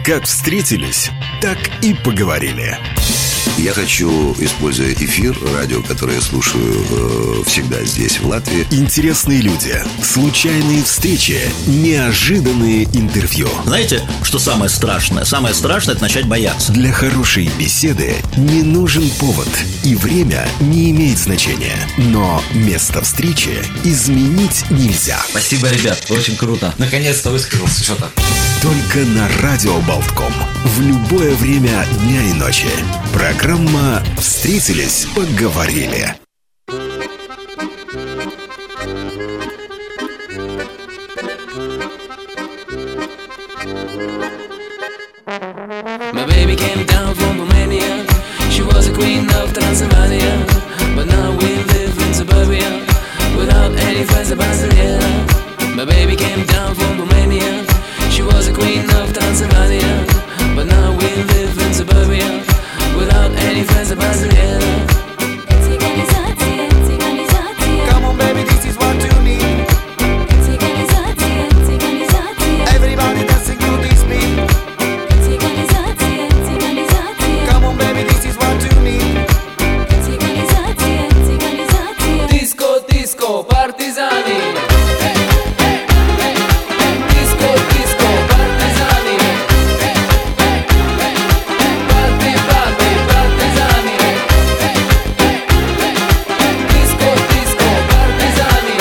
Как встретились, так и поговорили. Я хочу, используя эфир, радио, которое я слушаю всегда здесь, в Латвии. Интересные люди, случайные встречи, неожиданные интервью. Знаете, что самое страшное? Самое страшное – это начать бояться. Для хорошей беседы не нужен повод, и время не имеет значения. Но место встречи изменить нельзя. Спасибо, ребят, очень круто. Наконец-то высказался что-то. Только на Радио Болтком. В любое время дня и ночи. Программа «Встретились, поговорили». My baby came down from Romania. She was a queen of Transylvania. But now we live in suburbia without any friends of Brasilia. My baby came down from Romania. She was a queen of Transylvania. But now we live in suburbia without any friends of Brasilia. Come on baby, this is what you need. Everybody dancing to this beat. Come on baby, this is what you need. Disco, disco, partizani. Disco, disco, partizani. Party, party, partizani. Disco, disco, partizani.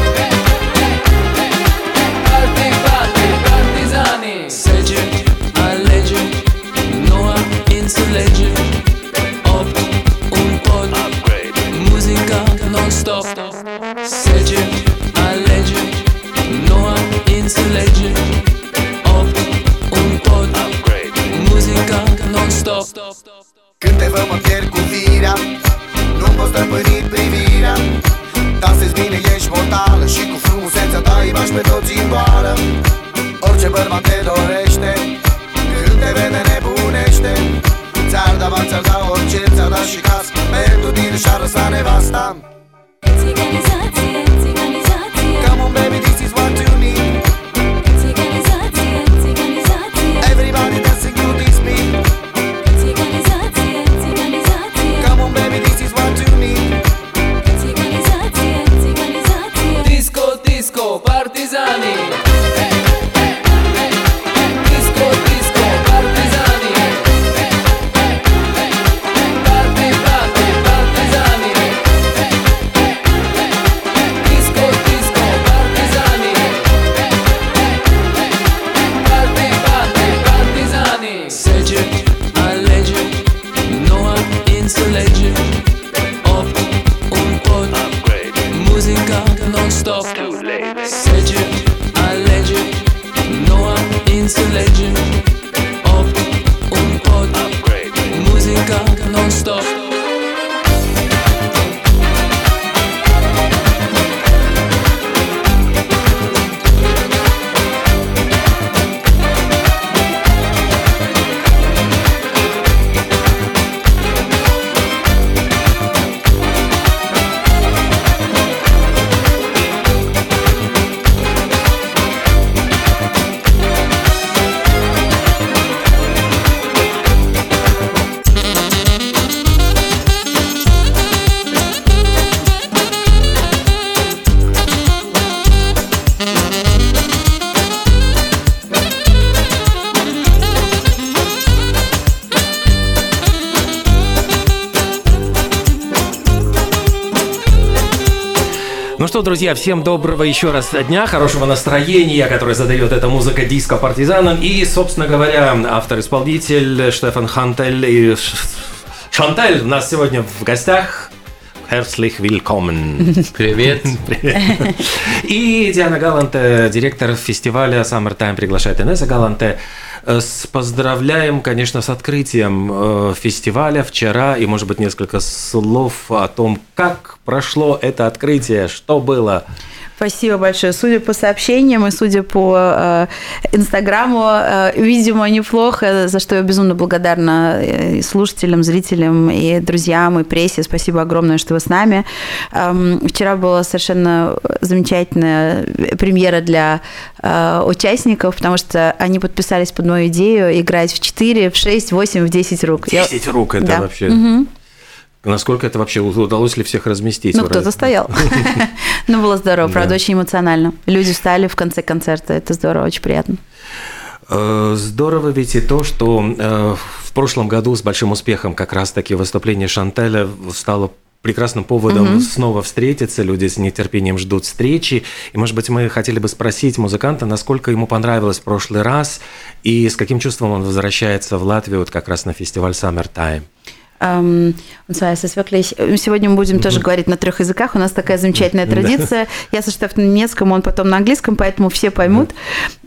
Party, party, partizani. Sece, alege, noua înțelege. Opt, un pod, muzica non-stop. Sece, alege, noua înțelege. Opt, un pod, muzica non-stop. Când te văd mă pierd cu firea, nu-mi poți stăpâni privirea. Dansezi bine, ești mortală și cu frumusețea ta îi bași pe toți în boală. Orice bărbat te dorește, când te vede nebunește. Ți-ar da bani, ți-ar da orice, ți-ar da și casă. Pentru tine și-ar lăsa nevasta. Come on baby, this is what you need. Everybody dancing to this beat. Come on baby, this is what you need. Disco, disco, partizani. Disco, disco, partizani. Party, party, partizani. Disco, disco, partizani. Party, party, partizani. Sege, alege, noua înțelege. Opt, un pod, muzica non-stop. Sege, alege, noua înțelege. Opt, un pod, muzica non-stop. Ну что, друзья, всем доброго еще раз дня, хорошего настроения, которое задает эта музыка диско партизанам. И, собственно говоря, автор-исполнитель Штефан Хантель и Шантель у нас сегодня в гостях. Herzlich willkommen. Привет. Привет. И Диана Галанте, директор фестиваля Summertime, приглашает Инесса Галанте. Поздравляем, конечно, с открытием фестиваля вчера. И, может быть, несколько слов о том, как прошло это открытие, что было. Спасибо большое. Судя по сообщениям и судя по Инстаграму, видимо, неплохо, за что я безумно благодарна и слушателям, зрителям, и друзьям, и прессе. Спасибо огромное, что вы с нами. Вчера была совершенно замечательная премьера для участников, потому что они подписались под мою идею играть в 4, в 6, в 8, в 10 рук. 10 рук – это вообще… Насколько это вообще удалось ли всех разместить? Ну, кто-то стоял. Ну, было здорово, правда, очень эмоционально. Люди встали в конце концерта, это здорово, очень приятно. Здорово ведь и то, что в прошлом году с большим успехом как раз-таки выступление Шантеля стало прекрасным поводом снова встретиться, люди с нетерпением ждут встречи. И, может быть, мы хотели бы спросить музыканта, насколько ему понравилось в прошлый раз и с каким чувством он возвращается в Латвию вот как раз на фестиваль Summertime. Und zwar ist es wirklich, сегодня мы будем тоже говорить на 3 языках, у нас такая замечательная традиция. Я сочетаю на немецком, он потом на английском, поэтому все поймут.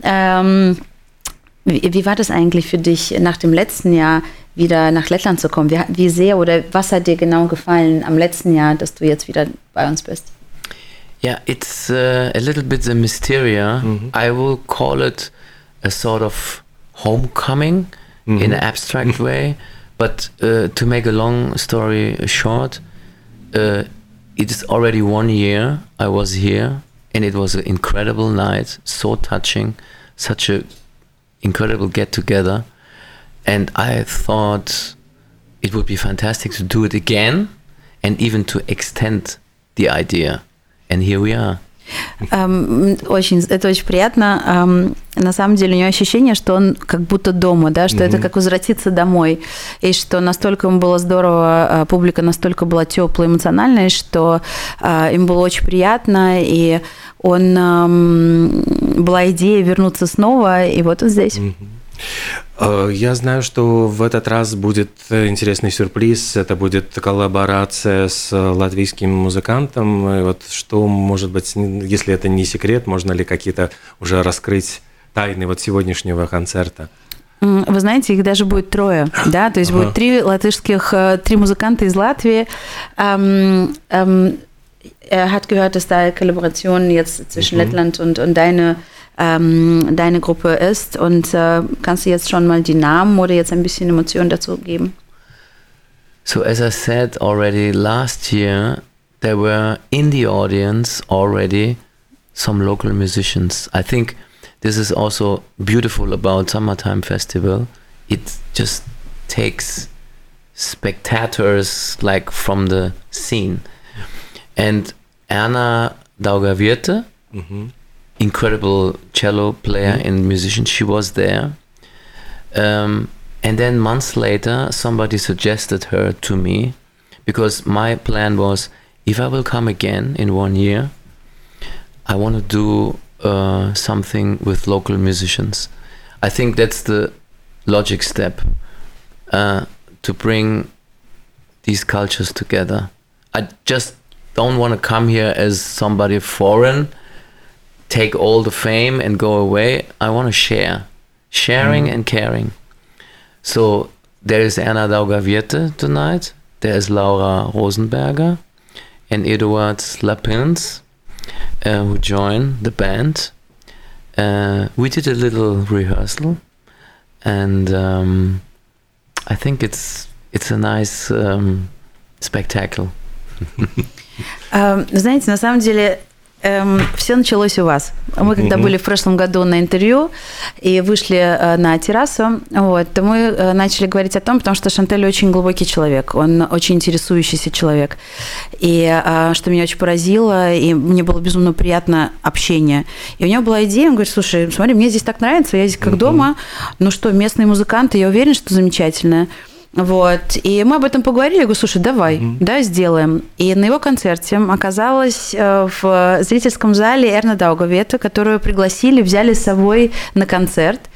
Wie war das eigentlich für dich, nach dem letzten Jahr wieder nach Lettland zu kommen? Wie sehr oder was hat dir genau gefallen am letzten Jahr, dass du jetzt wieder bei uns bist? Yeah, it's a little bit the mysteria. I will call it a sort of homecoming in an abstract way. But to make a long story short, it is already 1 year I was here, and it was an incredible night, so touching, such a incredible get-together. And I thought it would be fantastic to do it again and even to extend the idea. And here we are. Это очень приятно. На самом деле у него ощущение, что он как будто дома, да, что это как возвратиться домой, и что настолько ему было здорово, публика настолько была теплая, эмоциональная, что им было очень приятно, и была идея вернуться снова, и вот он здесь. Я знаю, что в этот раз будет интересный сюрприз. Это будет коллаборация с латвийским музыкантом. И вот что, может быть, если это не секрет, можно ли какие-то уже раскрыть тайны вот сегодняшнего концерта? Вы знаете, их даже будет 3, да, то есть будет 3 музыканта из Латвии. Hat gehört, dass da Kollaboration jetzt zwischen Lettland und deine Gruppe ist. Und kannst du jetzt schon mal die Namen oder jetzt ein bisschen Emotionen dazu geben? So as I said already last year, there were in the audience already some local musicians. I think this is also beautiful about Summertime Festival. It just takes spectators like from the scene. And Erna Daugavierte, incredible cello player and musician, she was there. And then months later, somebody suggested her to me, because my plan was, if I will come again in 1 year, I want to do something with local musicians. I think that's the logic step, to bring these cultures together. I just don't want to come here as somebody foreign, take all the fame and go away. I want to share. Sharing and caring. So there is Erna Daugavierte tonight. There is Laura Rosenberger and Eduard Lapins, who join the band. We did a little rehearsal, and I think it's a nice spectacle. Знаете, на самом деле все началось у вас. Мы когда были в прошлом году на интервью и вышли на террасу, вот, то мы начали говорить о том, потому что Шантель очень глубокий человек, он очень интересующийся человек. И что меня очень поразило, и мне было безумно приятно общение. И у него была идея, он говорит: слушай, смотри, мне здесь так нравится, я здесь как дома, ну что, местные музыканты, я уверен, что замечательно. Вот, и мы об этом поговорили, я говорю: слушай, давай, да, сделаем. И на его концерте оказалась в зрительском зале Эрна Даугавиете, которую пригласили, взяли с собой на концерт.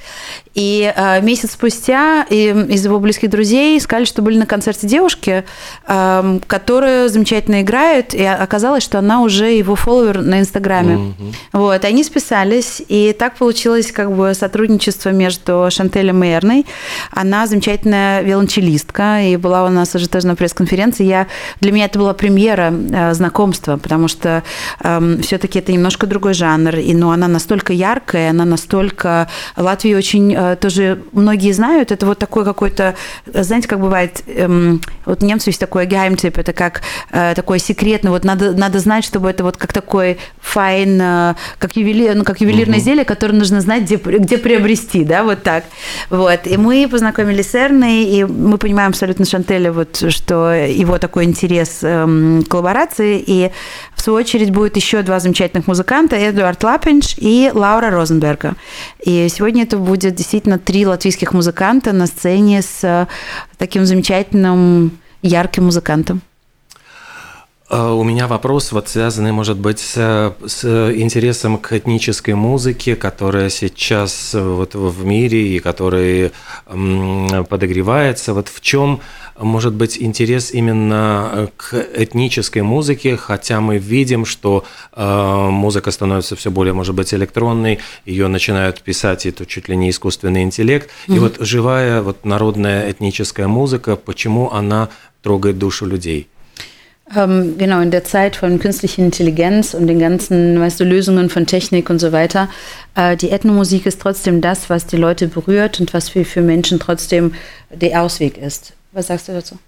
И месяц спустя из его близких друзей сказали, что были на концерте девушки, которая замечательно играет, и оказалось, что она уже его фолловер на Инстаграме. Вот, они списались, и так получилось как бы сотрудничество между Шантелем и Эрной. Она замечательная виолончелистка, и была у нас уже тоже на пресс-конференции. Для меня это была премьера знакомства, потому что все-таки это немножко другой жанр, но она настолько яркая, она настолько... Латвия очень тоже многие знают, это вот такой какой-то, знаете, как бывает, вот у немцев есть такой geheimtipp, это как такой секретный, вот надо знать, чтобы это вот как такой файн, как ювелирное изделие, которое нужно знать, где приобрести, да, вот так. Вот. И мы познакомились с Эрной, и мы понимаем абсолютно Шантеля, вот, что его такой интерес к коллаборации, и в свою очередь будет еще 2 замечательных музыканта, Эдуард Лапинш и Лаура Розенберга. И сегодня это будет действительно 3 латвийских музыканта на сцене с таким замечательным, ярким музыкантом. У меня вопрос, вот связанный, может быть, с интересом к этнической музыке, которая сейчас вот в мире и которая подогревается. Вот в чем может быть интерес именно к этнической музыке, хотя мы видим, что музыка становится все более, может быть, электронной, ее начинают писать, это чуть ли не искусственный интеллект. И вот живая вот народная этническая музыка, почему она трогает душу людей? Genau, in der Zeit von künstlicher Intelligenz und den ganzen, Lösungen von Technik und so weiter, die Ethnomusik ist trotzdem das, was die Leute berührt und was für Menschen trotzdem der Ausweg ist. Was sagst du dazu?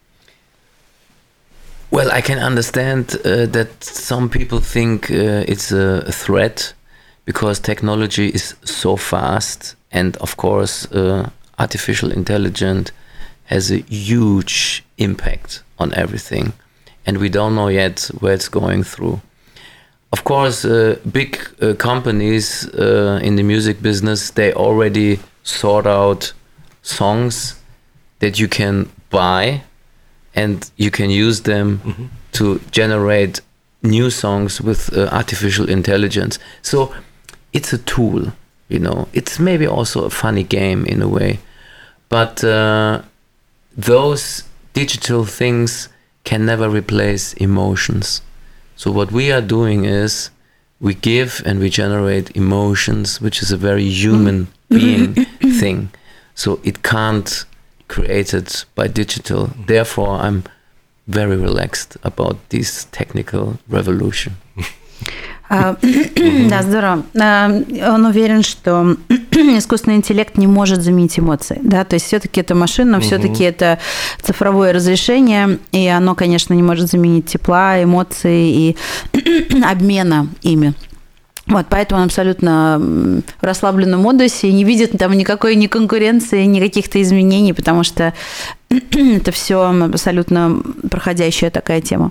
Well, I can understand that some people think it's a threat because technology is so fast, and of course artificial intelligence has a huge impact on everything. And we don't know yet where it's going through. Of course, big companies in the music business, they already sort out songs that you can buy and you can use them to generate new songs with artificial intelligence. So it's a tool, you know. It's maybe also a funny game in a way. But those digital things can never replace emotions. So what we are doing is we give and we generate emotions, which is a very human being thing. So it can't create it by digital. Therefore, I'm very relaxed about this technical revolution. Да, здорово. Он уверен, что искусственный интеллект не может заменить эмоции, да, то есть все-таки это машина, все-таки это цифровое разрешение, и оно, конечно, не может заменить тепла, эмоций и обмена ими. Вот, поэтому он абсолютно в расслабленном модусе и не видит там никакой ни конкуренции, ни каких-то изменений, потому что это все абсолютно проходящая такая тема.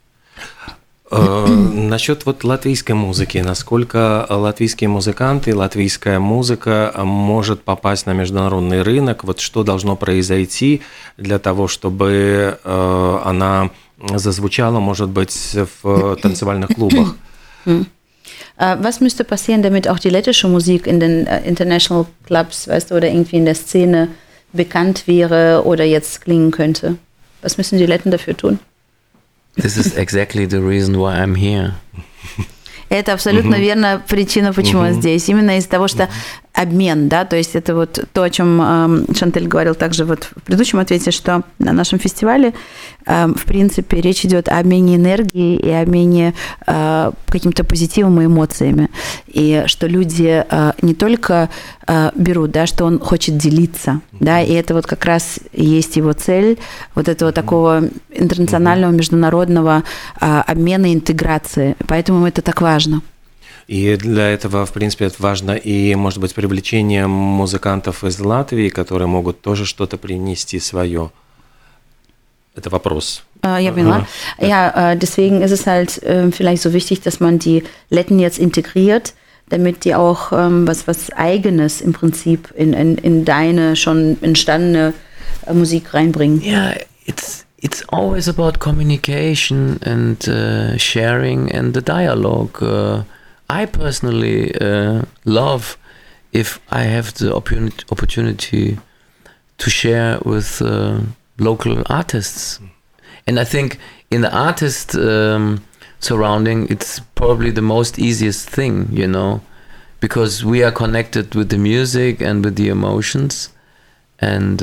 Насчет вот латвийской музыки, насколько латвийские музыканты, латвийская музыка может попасть на международный рынок, вот что должно произойти для того, чтобы она зазвучала, может быть, в танцевальных клубах? Was müsste passieren, damit auch die lettische Musik in den International Clubs, weißt du, oder irgendwie in der Szene bekannt wäre oder jetzt klingen könnte? Was müssen die Letten dafür tun? This is exactly the reason why I'm here. Это абсолютно верная причина, почему я здесь. Именно из-за того, что обмен, да, то есть это вот то, о чем Шантель говорил также вот в предыдущем ответе, что на нашем фестивале, в принципе, речь идет о обмене энергии и обмене каким-то позитивом и эмоциями. И что люди не только берут, да, что он хочет делиться, да, и это вот как раз есть его цель, вот этого такого интернационального, международного обмена и интеграции. Поэтому это так важно. И для этого, в принципе, это важно и, может быть, привлечение музыкантов из Латвии, которые могут тоже что-то принести свое. Это вопрос. Ja, поняла. Ja, deswegen ist es halt vielleicht so wichtig, dass man die Letten jetzt integriert, damit die auch was Eigenes im Prinzip in deine schon entstandene Musik reinbringen. Yeah, it's always about communication and sharing and the dialogue. I personally love if I have the opportunity to share with local artists. And I think in the artist surrounding, it's probably the most easiest thing, you know, because we are connected with the music and with the emotions, and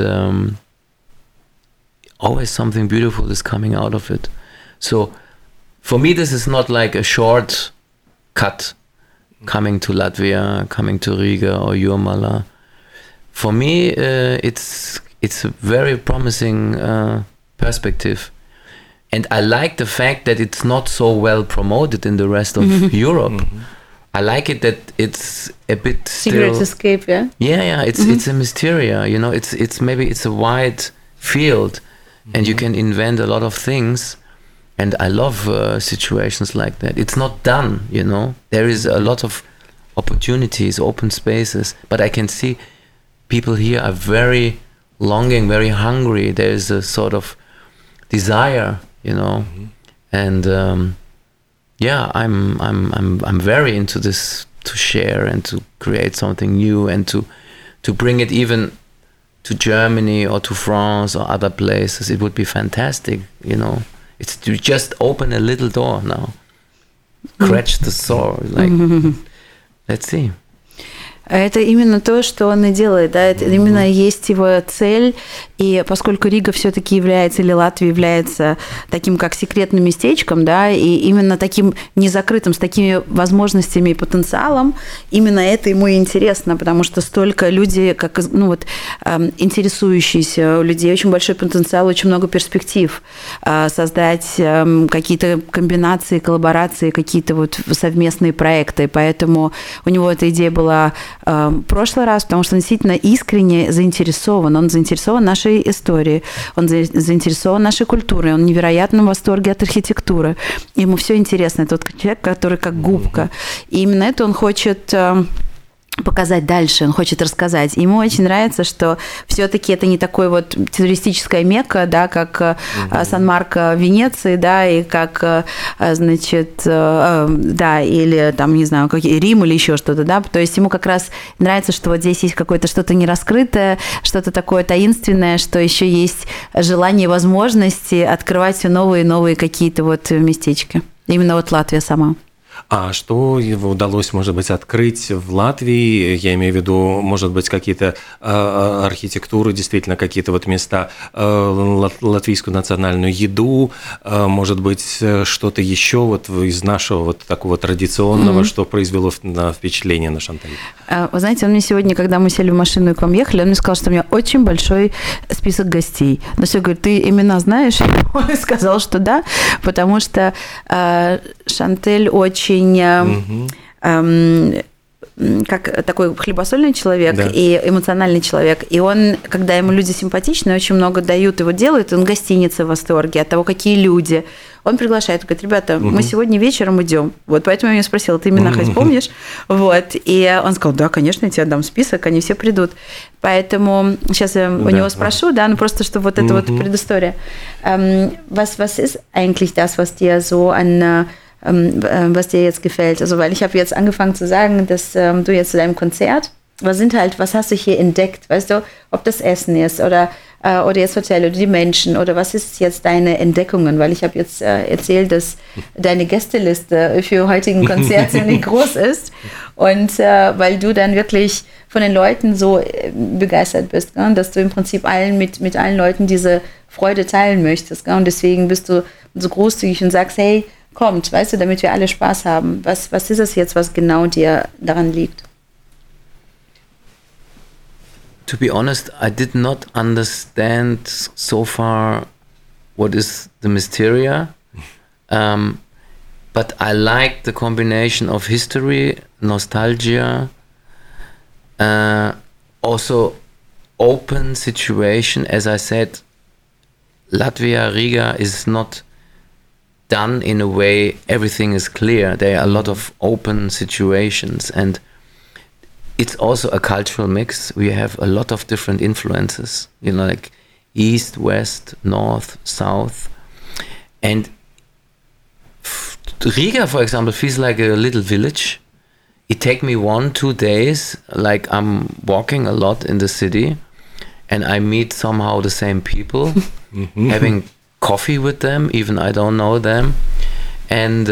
always something beautiful is coming out of it. So for me, this is not like a short cut coming to Latvia, coming to Riga or Jurmala. For me, it's a very promising perspective. And I like the fact that it's not so well promoted in the rest of Europe. I like it that it's a bit Secret escape, yeah? Yeah, it's a mysteria, you know, it's maybe it's a wide field and you can invent a lot of things. And I love situations like that. It's not done, you know. There is a lot of opportunities, open spaces, but I can see people here are very longing, very hungry. There is a sort of desire, you know, and I'm very into this, to share and to create something new and to bring it even to Germany or to France or other places. It would be fantastic, you know. It's to just open a little door now, scratch the sore, like, let's see. Это именно то, что он и делает, да, это именно есть его цель, и поскольку Рига все-таки является, или Латвия является таким как секретным местечком, да, и именно таким незакрытым, с такими возможностями и потенциалом, именно это ему и интересно, потому что столько людей, как, ну вот, интересующиеся, у людей очень большой потенциал, очень много перспектив создать какие-то комбинации, коллаборации, какие-то вот совместные проекты, поэтому у него эта идея была в прошлый раз, потому что он действительно искренне заинтересован. Он заинтересован нашей историей, он заинтересован нашей культурой, он в невероятном восторге от архитектуры. Ему все интересно. Это вот человек, который как губка. И именно это он хочет показать дальше, он хочет рассказать. Ему очень нравится, что все-таки это не такой вот туристическая Мекка, да, как Сан-Марко в Венеции, да, и как, значит, да, или там, не знаю, Рим или еще что-то, да, то есть ему как раз нравится, что вот здесь есть какое-то что-то нераскрытое, что-то такое таинственное, что еще есть желание, возможности открывать все новые и новые какие-то вот местечки. Именно вот Латвия сама. А что удалось, может быть, открыть в Латвии? Я имею в виду, может быть, какие-то архитектуры, действительно, какие-то вот места, латвийскую национальную еду, может быть, что-то еще вот из нашего вот такого традиционного, что произвело впечатление на Шанталь? Вы знаете, он мне сегодня, когда мы сели в машину и к вам ехали, он мне сказал, что у меня очень большой список гостей. Но все, говорит, ты имена знаешь? Он сказал, что да, потому что Шантель очень как такой хлебосольный человек, да, и эмоциональный человек. И он, когда ему люди симпатичны, очень много дают, его делают, он гостиница в восторге от того, какие люди. Он приглашает, говорит, ребята, мы сегодня вечером идем. Вот поэтому я меня спросила, ты имена хоть помнишь? Вот. И он сказал, да, конечно, я тебе дам список, они все придут. Поэтому сейчас я у него спрошу, да, ну просто, чтобы вот эта вот предыстория. Was ist eigentlich das, was dir so an was dir jetzt gefällt? Also, weil ich habe jetzt angefangen zu sagen, dass du jetzt zu deinem Konzert, was hast du hier entdeckt? Weißt du, ob das Essen ist oder jetzt Hotel oder die Menschen oder was ist jetzt deine Entdeckungen? Weil ich habe jetzt erzählt, dass deine Gästeliste für heutigen Konzert ziemlich groß ist und weil du dann wirklich von den Leuten so begeistert bist, gell? Dass du im Prinzip mit allen Leuten diese Freude teilen möchtest, gell? Und deswegen bist du so großzügig und sagst, hey, kommt, weißt du, damit wir alle Spaß haben. Was ist es jetzt, was genau dir daran liegt? To be honest, I did not understand so far what is the Mysteria, but I like the combination of history, nostalgia, also open situation. As I said, Latvia, Riga is not done in a way everything is clear. There are a lot of open situations, and it's also a cultural mix. We have a lot of different influences, you know, like east, west, north, south. And Riga, for example, feels like a little village it take me 1-2 days, like I'm walking a lot in the city, and I meet somehow the same people, having coffee with them, even I don't know them, and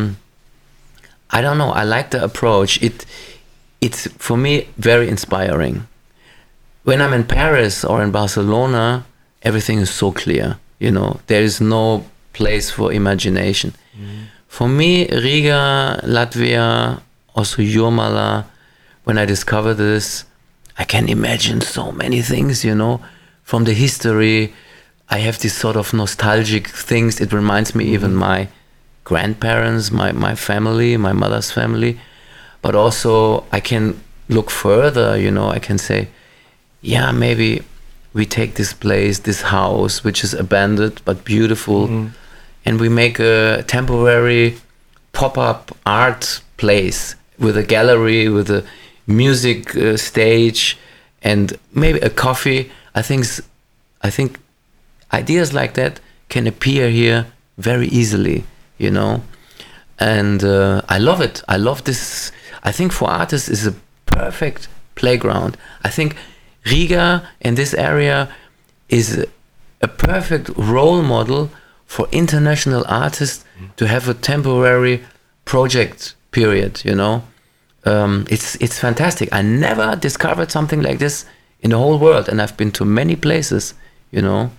I don't know. I like the approach. It's for me very inspiring. When I'm in Paris or in Barcelona, everything is so clear. You know, there is no place for imagination. For me, Riga, Latvia, also Jurmala, when I discovered this, I can imagine so many things, you know, from the history. I have these sort of nostalgic things. It reminds me even my grandparents, my family, my mother's family. But also I can look further, you know, I can say, yeah, maybe we take this place, this house, which is abandoned but beautiful, and we make a temporary pop-up art place with a gallery, with a music stage, and maybe a coffee. I think ideas like that can appear here very easily, you know, and I love it. I love this. I think for artists is a perfect playground. I think Riga and this area is a perfect role model for international artists to have a temporary project period, you know. It's fantastic. I never discovered something like this in the whole world, and I've been to many places, you know.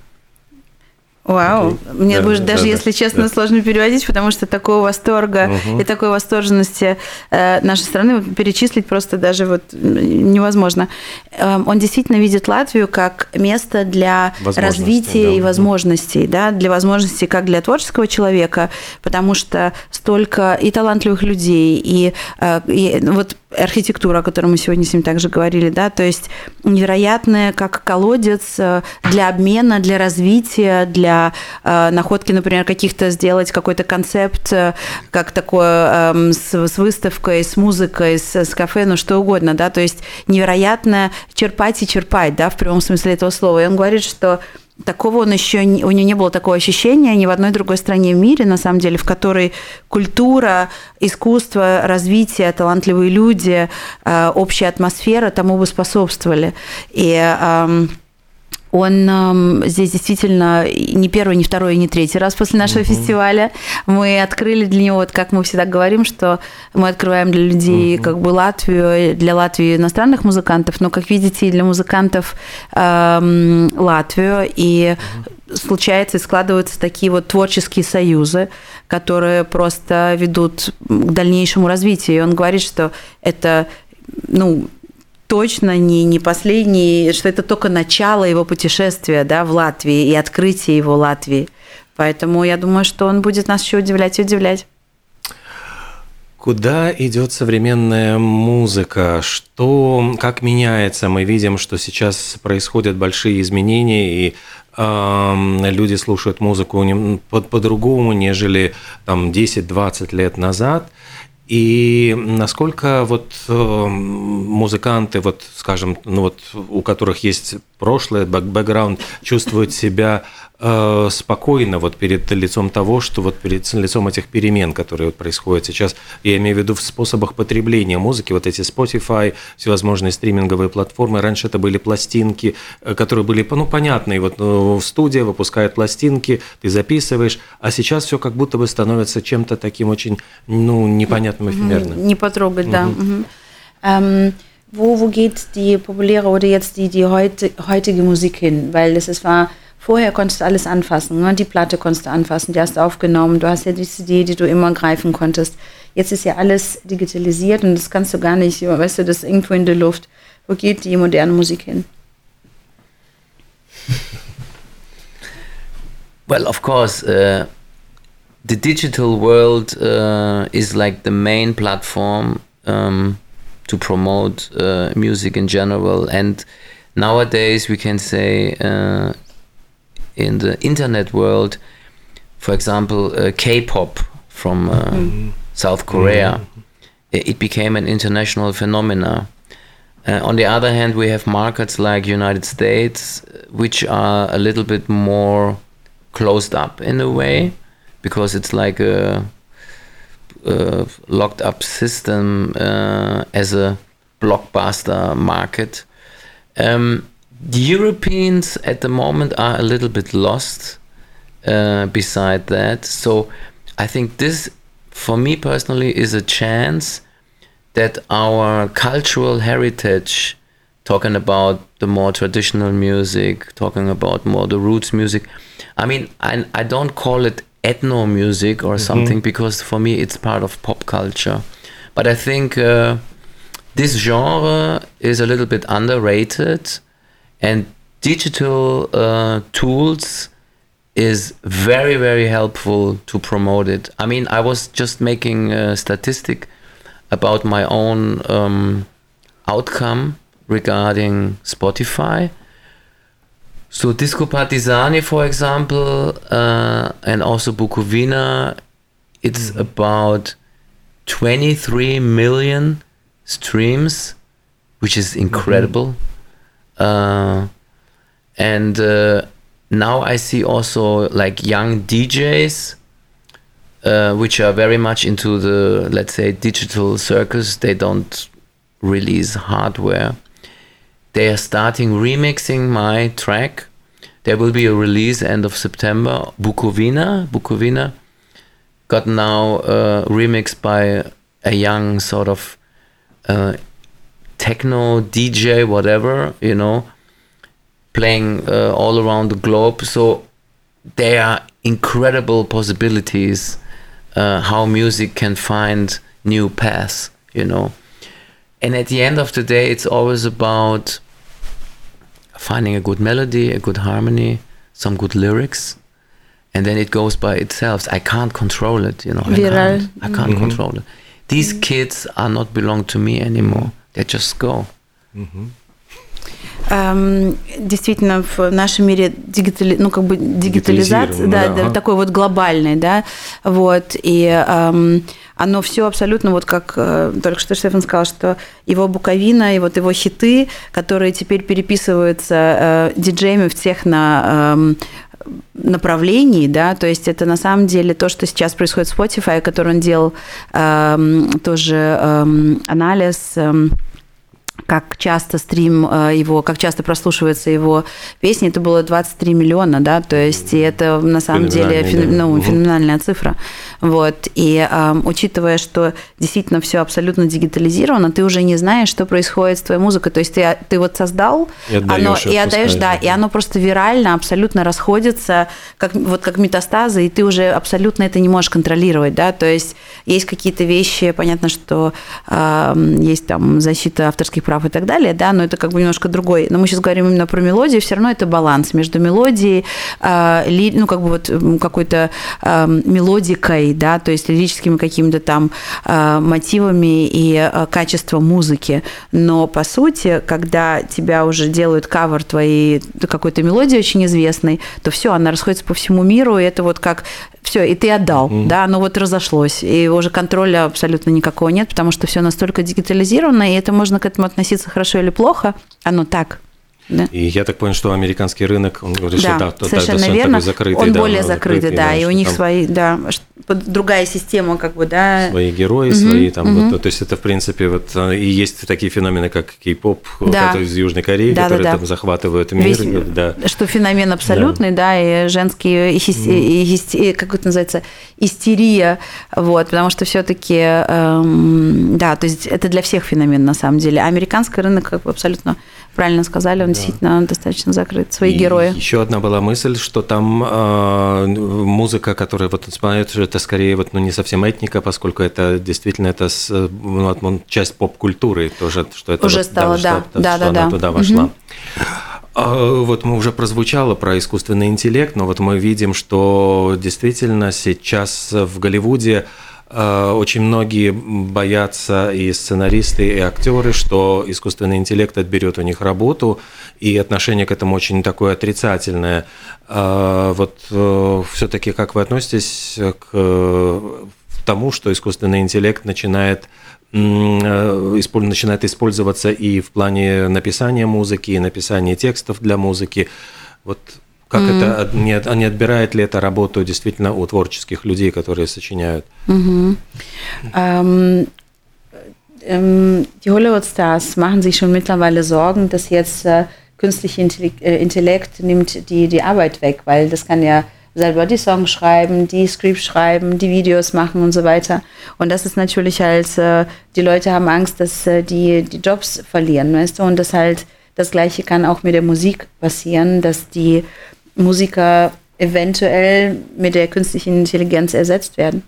Вау, мне будет даже, если честно, сложно переводить, потому что такого восторга и такой восторженности нашей страны перечислить просто даже вот невозможно. Он действительно видит Латвию как место для развития и возможностей, да, для возможностей как для творческого человека, потому что столько и талантливых людей, и вот архитектура, о которой мы сегодня с ним также говорили, да, то есть невероятная как колодец для обмена, для развития, для находки, например, каких-то сделать какой-то концепт, как такое с выставкой, с музыкой, с кафе, ну что угодно, да, то есть невероятно черпать и черпать, да, в прямом смысле этого слова. И он говорит, что такого у него не было такого ощущения ни в одной другой стране в мире, на самом деле, в которой культура, искусство, развитие, талантливые люди, общая атмосфера тому бы способствовали. И он здесь действительно не первый, не второй, не третий раз после нашего фестиваля. Мы открыли для него, вот как мы всегда говорим, что мы открываем для людей как бы Латвию, для Латвии иностранных музыкантов, но, как видите, и для музыкантов Латвию. И случается, и складываются такие вот творческие союзы, которые просто ведут к дальнейшему развитию. И он говорит, что это, ну, точно не последний, что это только начало его путешествия, да, в Латвии и открытие его Латвии. Поэтому я думаю, что он будет нас еще удивлять и удивлять. Куда идет современная музыка? Как меняется? Мы видим, что сейчас происходят большие изменения, и люди слушают музыку по-другому, нежели там 10-20 лет назад. И насколько вот музыканты, вот, скажем, ну вот, у которых есть прошлое, бэкграунд, чувствуют себя спокойно вот перед лицом того, что вот перед лицом этих перемен, которые вот происходят сейчас, я имею в виду в способах потребления музыки, вот эти Spotify, всевозможные стриминговые платформы, раньше это были пластинки, которые были, ну, понятные, вот в студии выпускают пластинки, ты записываешь, а сейчас все как будто бы становится чем-то таким очень, ну, непонятным, эфемерным. Не потрогать, да. Wo geht die populäre oder jetzt die heutige Musik hin? Weil es war, vorher konntest du alles anfassen, ne? Die Platte konntest du anfassen, die hast du aufgenommen, du hast ja die CD, die du immer greifen konntest. Jetzt ist ja alles digitalisiert und das kannst du gar nicht, weißt du, das ist irgendwo in der Luft. Wo geht die moderne Musik hin? Well, of course, the digital world is like the main platform to promote music in general, and nowadays we can say in the internet world, for example, K-pop from South Korea, it became an international phenomenon. On the other hand, we have markets like United States, which are a little bit more closed up in a way, because it's like locked up system as a blockbuster market. The Europeans at the moment are a little bit lost beside that. So I think this, for me personally, is a chance that our cultural heritage, talking about the more traditional music, talking about more the roots music. I mean, I don't call it ethno music or something, because for me it's part of pop culture. But I think this genre is a little bit underrated, and digital tools is very, very helpful to promote it. I mean, I was just making a statistic about my own outcome regarding Spotify. So Disco Partisani, for example, and also Bukovina, it's about 23 million streams, which is incredible. And now I see also like young DJs, which are very much into the, let's say, digital circus. They don't release hardware. They are starting remixing my track. There will be a release end of September. Bukovina got now remixed by a young sort of techno DJ, whatever, you know, playing all around the globe. So there are incredible possibilities how music can find new paths, you know. And at the end of the day, it's always about finding a good melody, a good harmony, some good lyrics, and then it goes by itself. I can't control it, you know. I can't control it. These kids are not belong to me anymore. They just go. Действительно, в нашем мире дигитализация, такой вот глобальный, да, вот, и оно все абсолютно, вот как только что Штефан сказал, что его Буковина и вот его хиты, которые теперь переписываются диджеями в техно-направлении, да, то есть это на самом деле то, что сейчас происходит в Spotify, который он делал тоже анализ, как часто стрим его, как часто прослушивается его песни, это было 23 миллиона, да, то есть и это на самом деле феноменальная цифра. Вот. И учитывая, что действительно все абсолютно дигитализировано, ты уже не знаешь, что происходит с твоей музыкой. То есть ты вот создал, и отдаешь, да, и оно просто вирально абсолютно расходится, как метастазы, и ты уже абсолютно это не можешь контролировать, да, то есть есть какие-то вещи, понятно, что есть там защита авторских прав и так далее, да, но это как бы немножко другой. Но мы сейчас говорим именно про мелодию, все равно это баланс между мелодией, ну, как бы вот какой-то мелодикой, да, то есть лирическими какими-то там мотивами и качеством музыки. Но, по сути, когда тебя уже делают кавер твоей какой-то мелодии очень известной, то все, она расходится по всему миру, и это вот как все, и ты отдал, да, оно вот разошлось, и уже контроля абсолютно никакого нет, потому что все настолько дигитализировано, и это можно к этому относиться хорошо или плохо, оно так. Да. И я так понял, что американский рынок, он говорит, да, что совершенно верно, закрытый, он более закрытый, да, и у них свои, да, другая система, как бы, да. Свои герои, свои там, вот, то есть это, в принципе, вот, и есть такие феномены, как кей-поп, да, из Южной Кореи, да, которые там захватывают мир. Весь, да. Что феномен абсолютный, да, и женский, и как это называется, истерия, вот, потому что все-таки, да, то есть это для всех феномен, на самом деле. А американский рынок, как бы, абсолютно правильно сказали, он действительно достаточно закрыт, свои герои. Еще одна была мысль, что там музыка, которая вот исполняет, это скорее вот, ну, не совсем этника, поскольку это действительно это часть поп-культуры тоже, что это уже вот, стало, да, она туда вошла. Вот мы уже прозвучало про искусственный интеллект, но вот мы видим, что действительно сейчас в Голливуде очень многие боятся, и сценаристы, и актеры, что искусственный интеллект отберет у них работу, и отношение к этому очень такое отрицательное. Вот все-таки как вы относитесь к тому, что искусственный интеллект начинает использоваться и в плане написания музыки, и написания текстов для музыки? Вот Как это, не отбирает ли это работу действительно у творческих людей, которые сочиняют? Die Hollywood-Stars machen sich schon mittlerweile Sorgen, dass jetzt künstlicher Intellekt nimmt die Arbeit weg, weil das kann ja selber die Songs schreiben, die Scripts schreiben, die Videos machen und so weiter. Und das ist natürlich halt, die Leute haben Angst, dass die Jobs verlieren, weißt du? Und das halt, das Gleiche kann auch mit der Musik passieren, dass die Musiker eventuell mit der künstlichen Intelligenz ersetzt werden.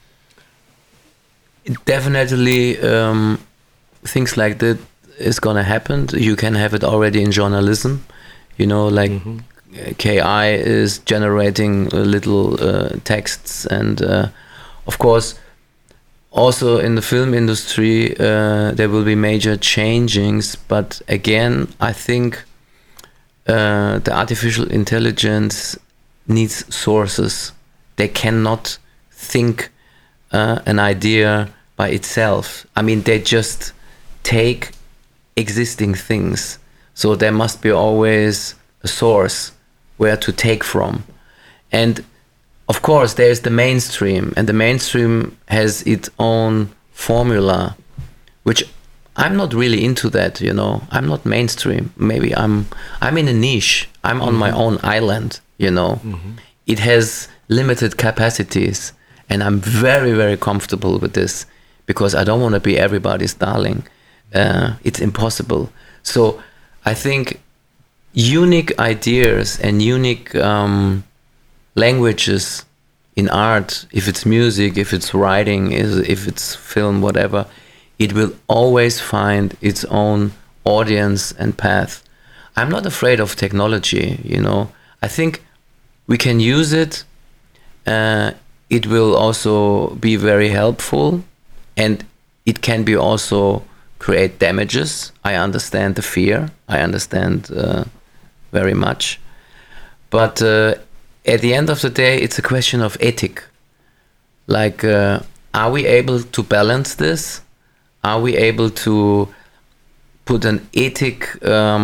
Definitely, things like that is gonna happen. You can have it already in journalism, you know, like KI is generating little texts, and of course, also in the film industry, there will be major changings. But again, I think the artificial intelligence needs sources. They cannot think an idea by itself. I mean, they just take existing things. So there must be always a source where to take from. And of course, there's the mainstream, and the mainstream has its own formula, which I'm not really into that, you know. I'm not mainstream. Maybe I'm in a niche. I'm on my own island, you know. It has limited capacities, and I'm very, very comfortable with this because I don't want to be everybody's darling. It's impossible. So I think unique ideas and unique languages in art, if it's music, if it's writing, if it's film, whatever, it will always find its own audience and path. I'm not afraid of technology, you know. I think we can use it. It will also be very helpful, and it can be also create damages. I understand the fear. I understand very much. But at the end of the day, it's a question of ethic. Like, are we able to balance this? Are we able to put an ethic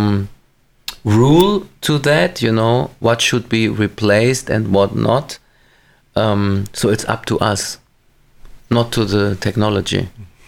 rule to that, you know, what should be replaced and what not? So it's up to us, not to the technology.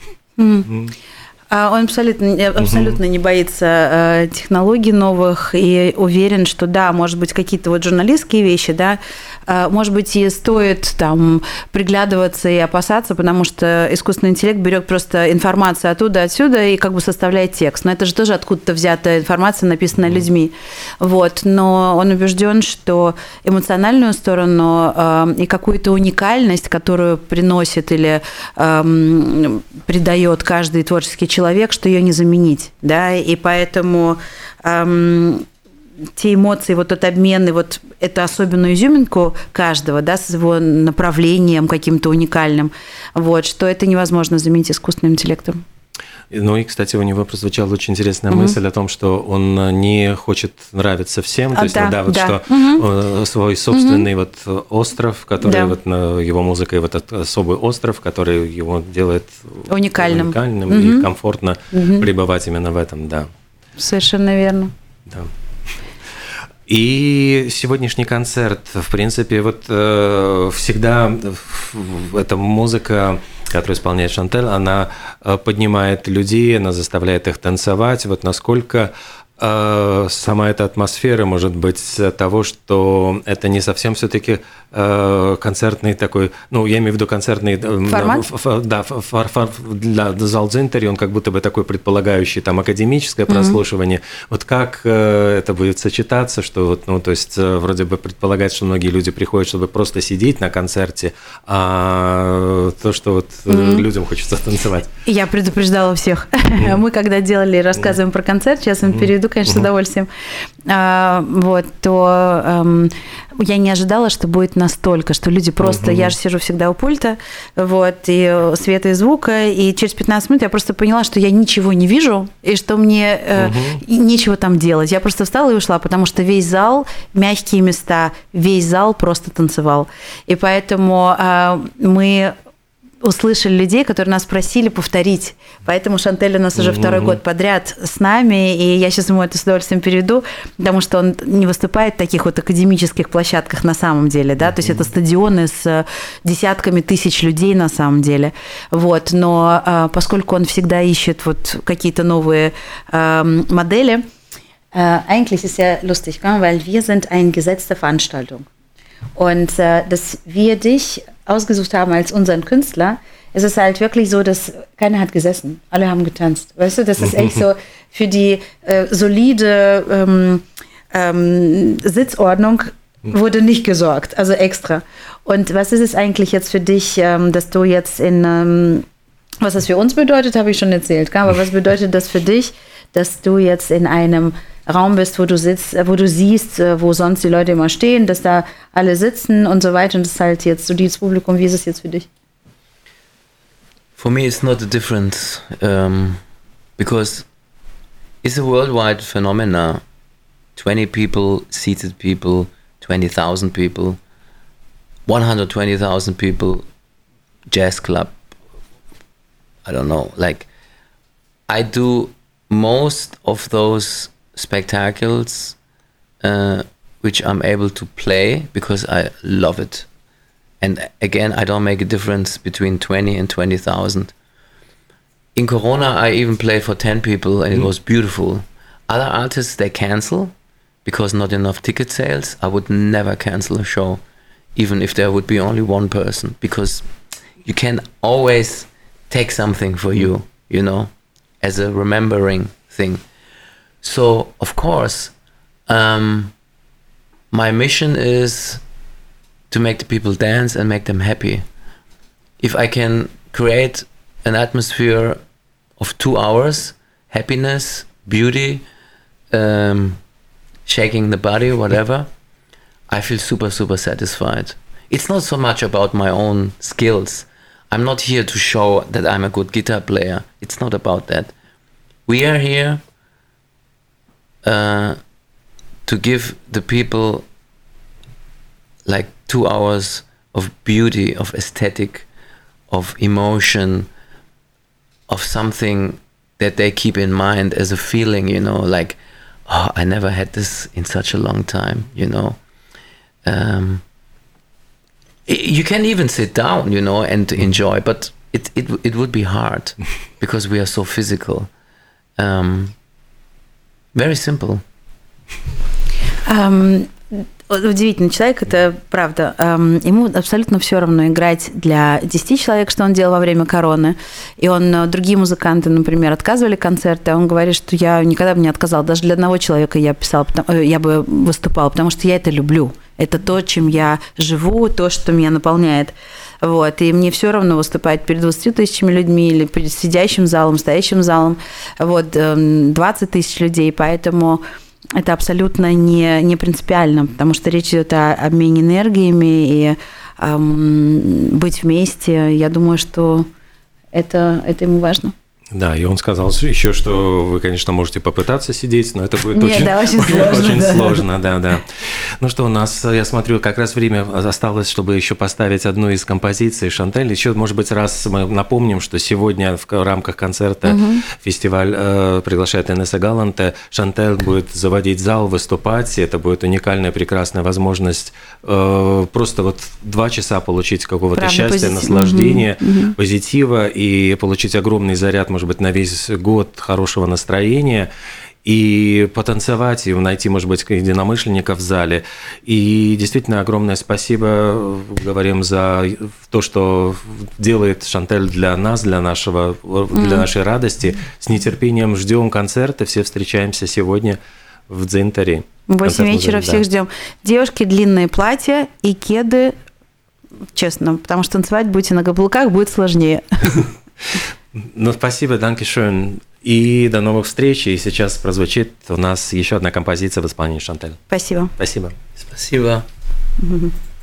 Он абсолютно не боится технологий новых и уверен, что да, может быть, какие-то вот журналистские вещи, да, может быть, и стоит там приглядываться и опасаться, потому что искусственный интеллект берет просто информацию оттуда, отсюда и как бы составляет текст. Но это же тоже откуда-то взятая информация, написанная людьми. Вот. Но он убежден, что эмоциональную сторону и какую-то уникальность, которую приносит или придает каждый творческий человек, что ее не заменить, да, и поэтому те эмоции, вот тот обмен, и вот эту особенную изюминку каждого, да, с его направлением каким-то уникальным, вот, что это невозможно заменить искусственным интеллектом. Ну и, кстати, у него прозвучала очень интересная мысль о том, что он не хочет нравиться всем, то есть, что свой собственный вот остров, который вот его музыкой, вот этот особый остров, который его делает уникальным и комфортно пребывать именно в этом, да. Совершенно верно. Да. И сегодняшний концерт, в принципе, вот всегда эта музыка, которую исполняет Шантель, она поднимает людей, она заставляет их танцевать. Вот насколько сама эта атмосфера может быть того, что это не совсем все-таки концертный такой, ну, я имею в виду концертный формат? Для Залцзинтери, он как будто бы такой предполагающий там академическое прослушивание. Вот как это будет сочетаться, что вот, ну, то есть вроде бы предполагается, что многие люди приходят, чтобы просто сидеть на концерте, а то, что вот людям хочется танцевать. Я предупреждала всех. Мы когда делали, рассказываем про концерт, сейчас им перейду, конечно, с удовольствием, вот, то я не ожидала, что будет настолько, что люди просто... Я же сижу всегда у пульта, вот, и света и звука, и через 15 минут я просто поняла, что я ничего не вижу, и что мне нечего там делать. Я просто встала и ушла, потому что весь зал, мягкие места, весь зал просто танцевал. И поэтому мы услышали людей, которые нас просили повторить. Поэтому Шантель у нас уже второй год подряд с нами, и я сейчас ему это с удовольствием переведу, потому что он не выступает в таких вот академических площадках на самом деле, да, то есть это стадионы с десятками тысяч людей на самом деле, вот, но поскольку он всегда ищет вот какие-то новые модели, eigentlich ist ja lustig, weil wir sind eine gesetzte Veranstaltung. Und dass wir dich ausgesucht haben als unseren Künstler, ist es halt wirklich so, dass keiner hat gesessen, alle haben getanzt. Weißt du, das ist echt so für die solide Sitzordnung wurde nicht gesorgt, also extra. Und was ist es eigentlich jetzt für dich, dass du jetzt was das für uns bedeutet, habe ich schon erzählt, aber was bedeutet das für dich, dass du jetzt in einem Raum bist, wo du sitzt, wo du siehst, wo sonst die Leute immer stehen, dass da alle sitzen und so weiter, und das ist halt jetzt so dieses Publikum. Wie ist es jetzt für dich? For me, it's not a difference, because it's a worldwide phenomenon. 20 people, seated people, 20,000 people, 120,000 people, jazz club. I don't know. Like, I do most of those spectacles which I'm able to play because I love it. And again, I don't make a difference between 20 and 20,000. In Corona, I even played for 10 people and it was beautiful. Other artists, they cancel because not enough ticket sales. I would never cancel a show, even if there would be only one person, because you can always take something for you, you know, as a remembering thing. So, of course, my mission is to make the people dance and make them happy. If I can create an atmosphere of 2 hours, happiness, beauty, shaking the body, whatever, I feel super, super satisfied. It's not so much about my own skills. I'm not here to show that I'm a good guitar player. It's not about that. We are here to give the people like 2 hours of beauty, of aesthetic, of emotion, of something that they keep in mind as a feeling, you know, like, oh, I never had this in such a long time, you know. You can even sit down, you know, and enjoy, but it would be hard because we are so physical. Very simple. Удивительный человек, это правда. Ему абсолютно все равно играть для 10 человек, что он делал во время короны. И другие музыканты, например, отказывали концерты, а он говорит, что я никогда бы не отказал. Даже для одного человека я бы выступала, потому что я это люблю. Это то, чем я живу, то, что меня наполняет. Вот. И мне все равно выступать перед 20 тысячами людьми или перед сидящим залом, стоящим залом. Вот, 20 тысяч людей, поэтому это абсолютно не принципиально, потому что речь идет о обмене энергиями и быть вместе. Я думаю, что это ему важно. Да, и он сказал еще, что вы, конечно, можете попытаться сидеть, но это будет очень сложно. Да. Ну что, у нас, я смотрю, как раз время осталось, чтобы еще поставить одну из композиций Шантель. Еще, может быть, раз мы напомним, что сегодня в рамках концерта фестиваль приглашает Инесса Галанте. Шантель будет заводить зал, выступать. Это будет уникальная, прекрасная возможность просто вот 2 часа получить какого-то счастья, наслаждения, позитива и получить огромный заряд, может быть, на весь год хорошего настроения, и потанцевать, и найти, может быть, единомышленников в зале. И действительно огромное спасибо говорим за то, что делает Шантель для нас, для нашей радости. С нетерпением ждем концерта. Все встречаемся сегодня в Дзинтаре. В 8 вечера всех ждем. Девушки, длинные платья и кеды, честно, потому что танцевать будете на каблуках, будет сложнее. Ну, спасибо, danke-schön. И до новых встреч. И сейчас прозвучит у нас еще одна композиция в исполнении Шантель. Спасибо. Спасибо. Спасибо.